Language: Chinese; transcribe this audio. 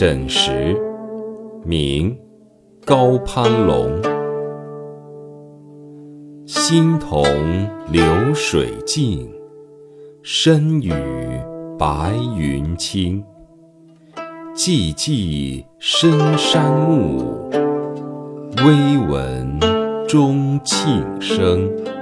枕石，明，高攀龙。新同流水静，深与白云青。寂寂深山暮，微闻钟磬声。